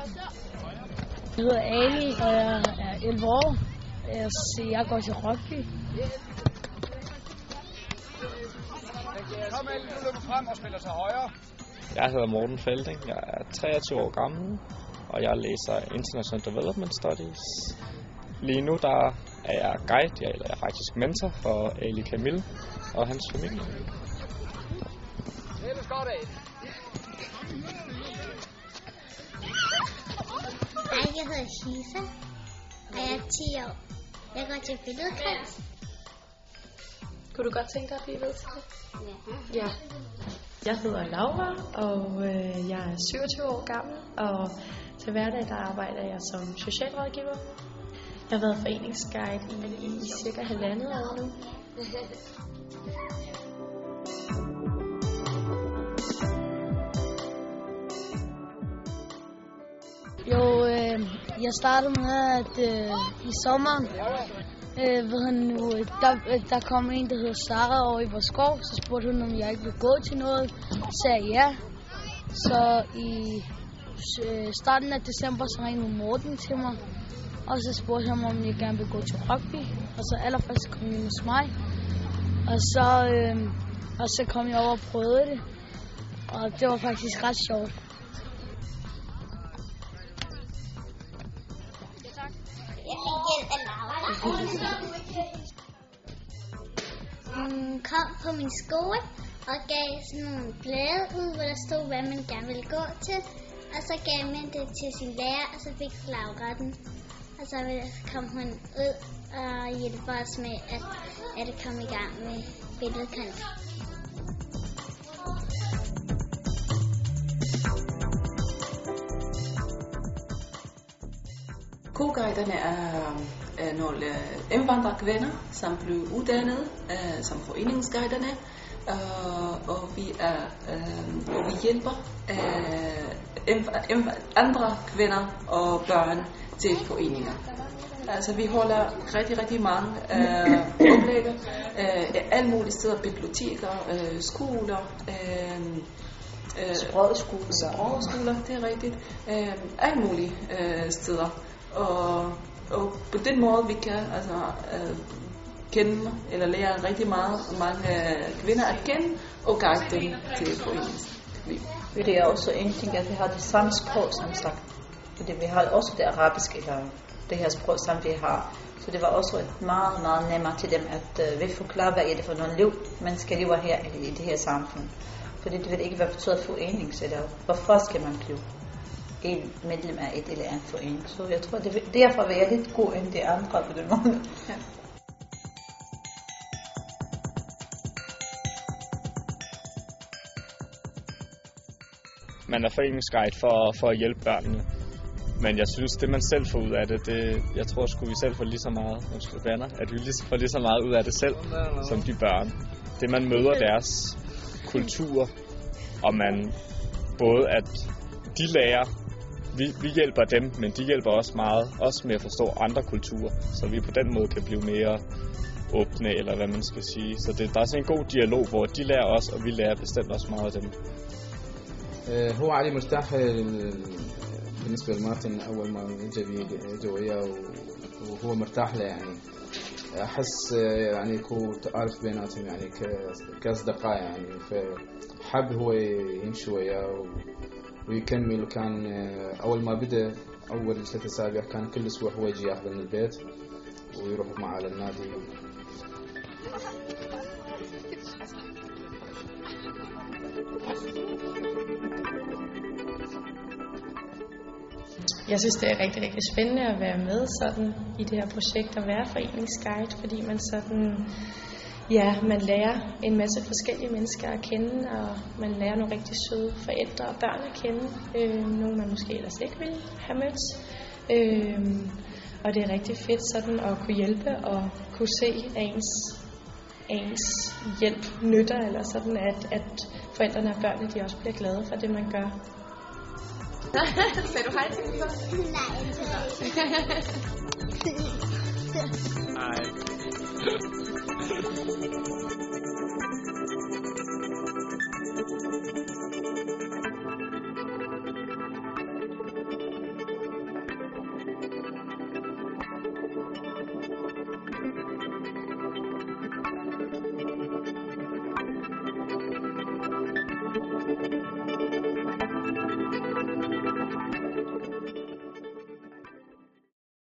Jeg hedder Ali, og jeg er 11 år. Jeg går til rugby. Kom alle, nu løber frem og spiller sig højre. Jeg hedder Morten Felding. Jeg er 23 år gammel, og jeg læser International Development Studies. Lige nu der er jeg guide, jeg er faktisk mentor for Ali Kamil og hans familie. Ellers godt af. Hej, jeg hedder Shisa, og jeg er 10 år. Jeg går til billedkunst. Kunne du godt tænke dig at blive ved til det? Ja. Jeg hedder Laura, og jeg er 27 år gammel, og til hverdag der arbejder jeg som socialrådgiver. Jeg har været foreningsguide i cirka 1,5 år nu. Jo, jeg startede med, at i sommeren, der kom en, der hedder Sara over i vores skov, så spurgte hun, om jeg ikke ville gå til noget. Så sagde ja. Så i starten af december, så ringede Morten til mig, og så spurgte han mig, om jeg gerne ville gå til rugby. Og så allerførst kom jeg hos mig, og så kom jeg over og prøvede det, og det var faktisk ret sjovt. Hun kom på min skole og gav sådan nogle blade ud, hvor der stod, hvad man gerne ville gå til. Og så gav man det til sin lærer, og så fik Laura den. Og så kom hun ud og hjælpe os med at komme i gang med billedkunst. Co-guiderne er nogle indvandrerkvinder, som blev uddannet som foreningsguiderne, og vi hjælper andre kvinder og børn til foreninger. Altså vi holder rigtig mange oplægger, alle mulige steder, biblioteker, skoler, sprogskoler, det er rigtigt, alle mulige steder. Og på den måde vi kan kende eller lære rigtig mange kvinder at kende og guide dem til foreningsliv. Det er også en ting, at vi har det samme sprog som sagt. Fordi vi har også det arabiske, eller det her sprog, som vi har. Så det var også meget nemmere til dem at vi forklare, hvad er det for nogle liv, mennesker lever her i det her samfund. Fordi det ved ikke, hvad betyder forenings, eller hvorfor skal man blive en medlem af et eller andet forening. Så jeg tror, derfor vil jeg lidt god end de andre på den måde. Ja. Man er foreningsguide for at hjælpe børnene. Men jeg synes, det man selv får ud af det jeg tror sgu vi selv får lige så meget, at vi får lige så meget ud af det selv, som de børn. Det man møder deres kultur, og man både at de lærer, vi hjælper dem, men de hjælper også med at forstå andre kulturer, så vi på den måde kan blive mere åbne, eller hvad man skal sige. Så der er sådan en god dialog, hvor de lærer os, og vi lærer bestemt også meget af dem. هو علي مرتاح بالنسبة لمارتن أول ما جا وياه وهو مرتاح له يعني أحس يعني كو تعارف بيناتهم يعني كأصدقاء يعني فحب هو يمشي وياه ويكمل. وكان أول ما بدأ أول 3 أسابيع كان كل أسبوع هو يجي ياخذه من البيت ويروح معه على النادي. Jeg synes, det er rigtig spændende at være med sådan i det her projekt og være foreningsguide, fordi man sådan, ja, man lærer en masse forskellige mennesker at kende, og man lærer nogle rigtig søde forældre og børn at kende, nogle man måske ellers ikke ville have mødt. Og det er rigtig fedt sådan at kunne hjælpe og kunne se ens hjælp nytter, eller sådan at forældrene og børnene de også bliver glade for det man gør. Sagde du hej til dem så? Nej. Nej.